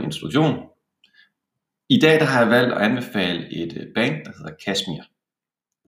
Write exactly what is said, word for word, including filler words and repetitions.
introduktion. I dag der har jeg valgt at anbefale et band, der hedder Kashmir.